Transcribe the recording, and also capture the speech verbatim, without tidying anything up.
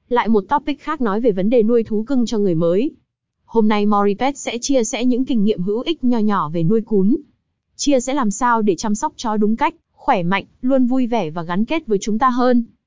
Lại một topic khác nói về vấn đề nuôi thú cưng cho người mới. Hôm nay Moripet sẽ chia sẻ những kinh nghiệm hữu ích nho nhỏ về nuôi cún. Chia sẻ làm sao để chăm sóc chó đúng cách, khỏe mạnh, luôn vui vẻ và gắn kết với chúng ta hơn.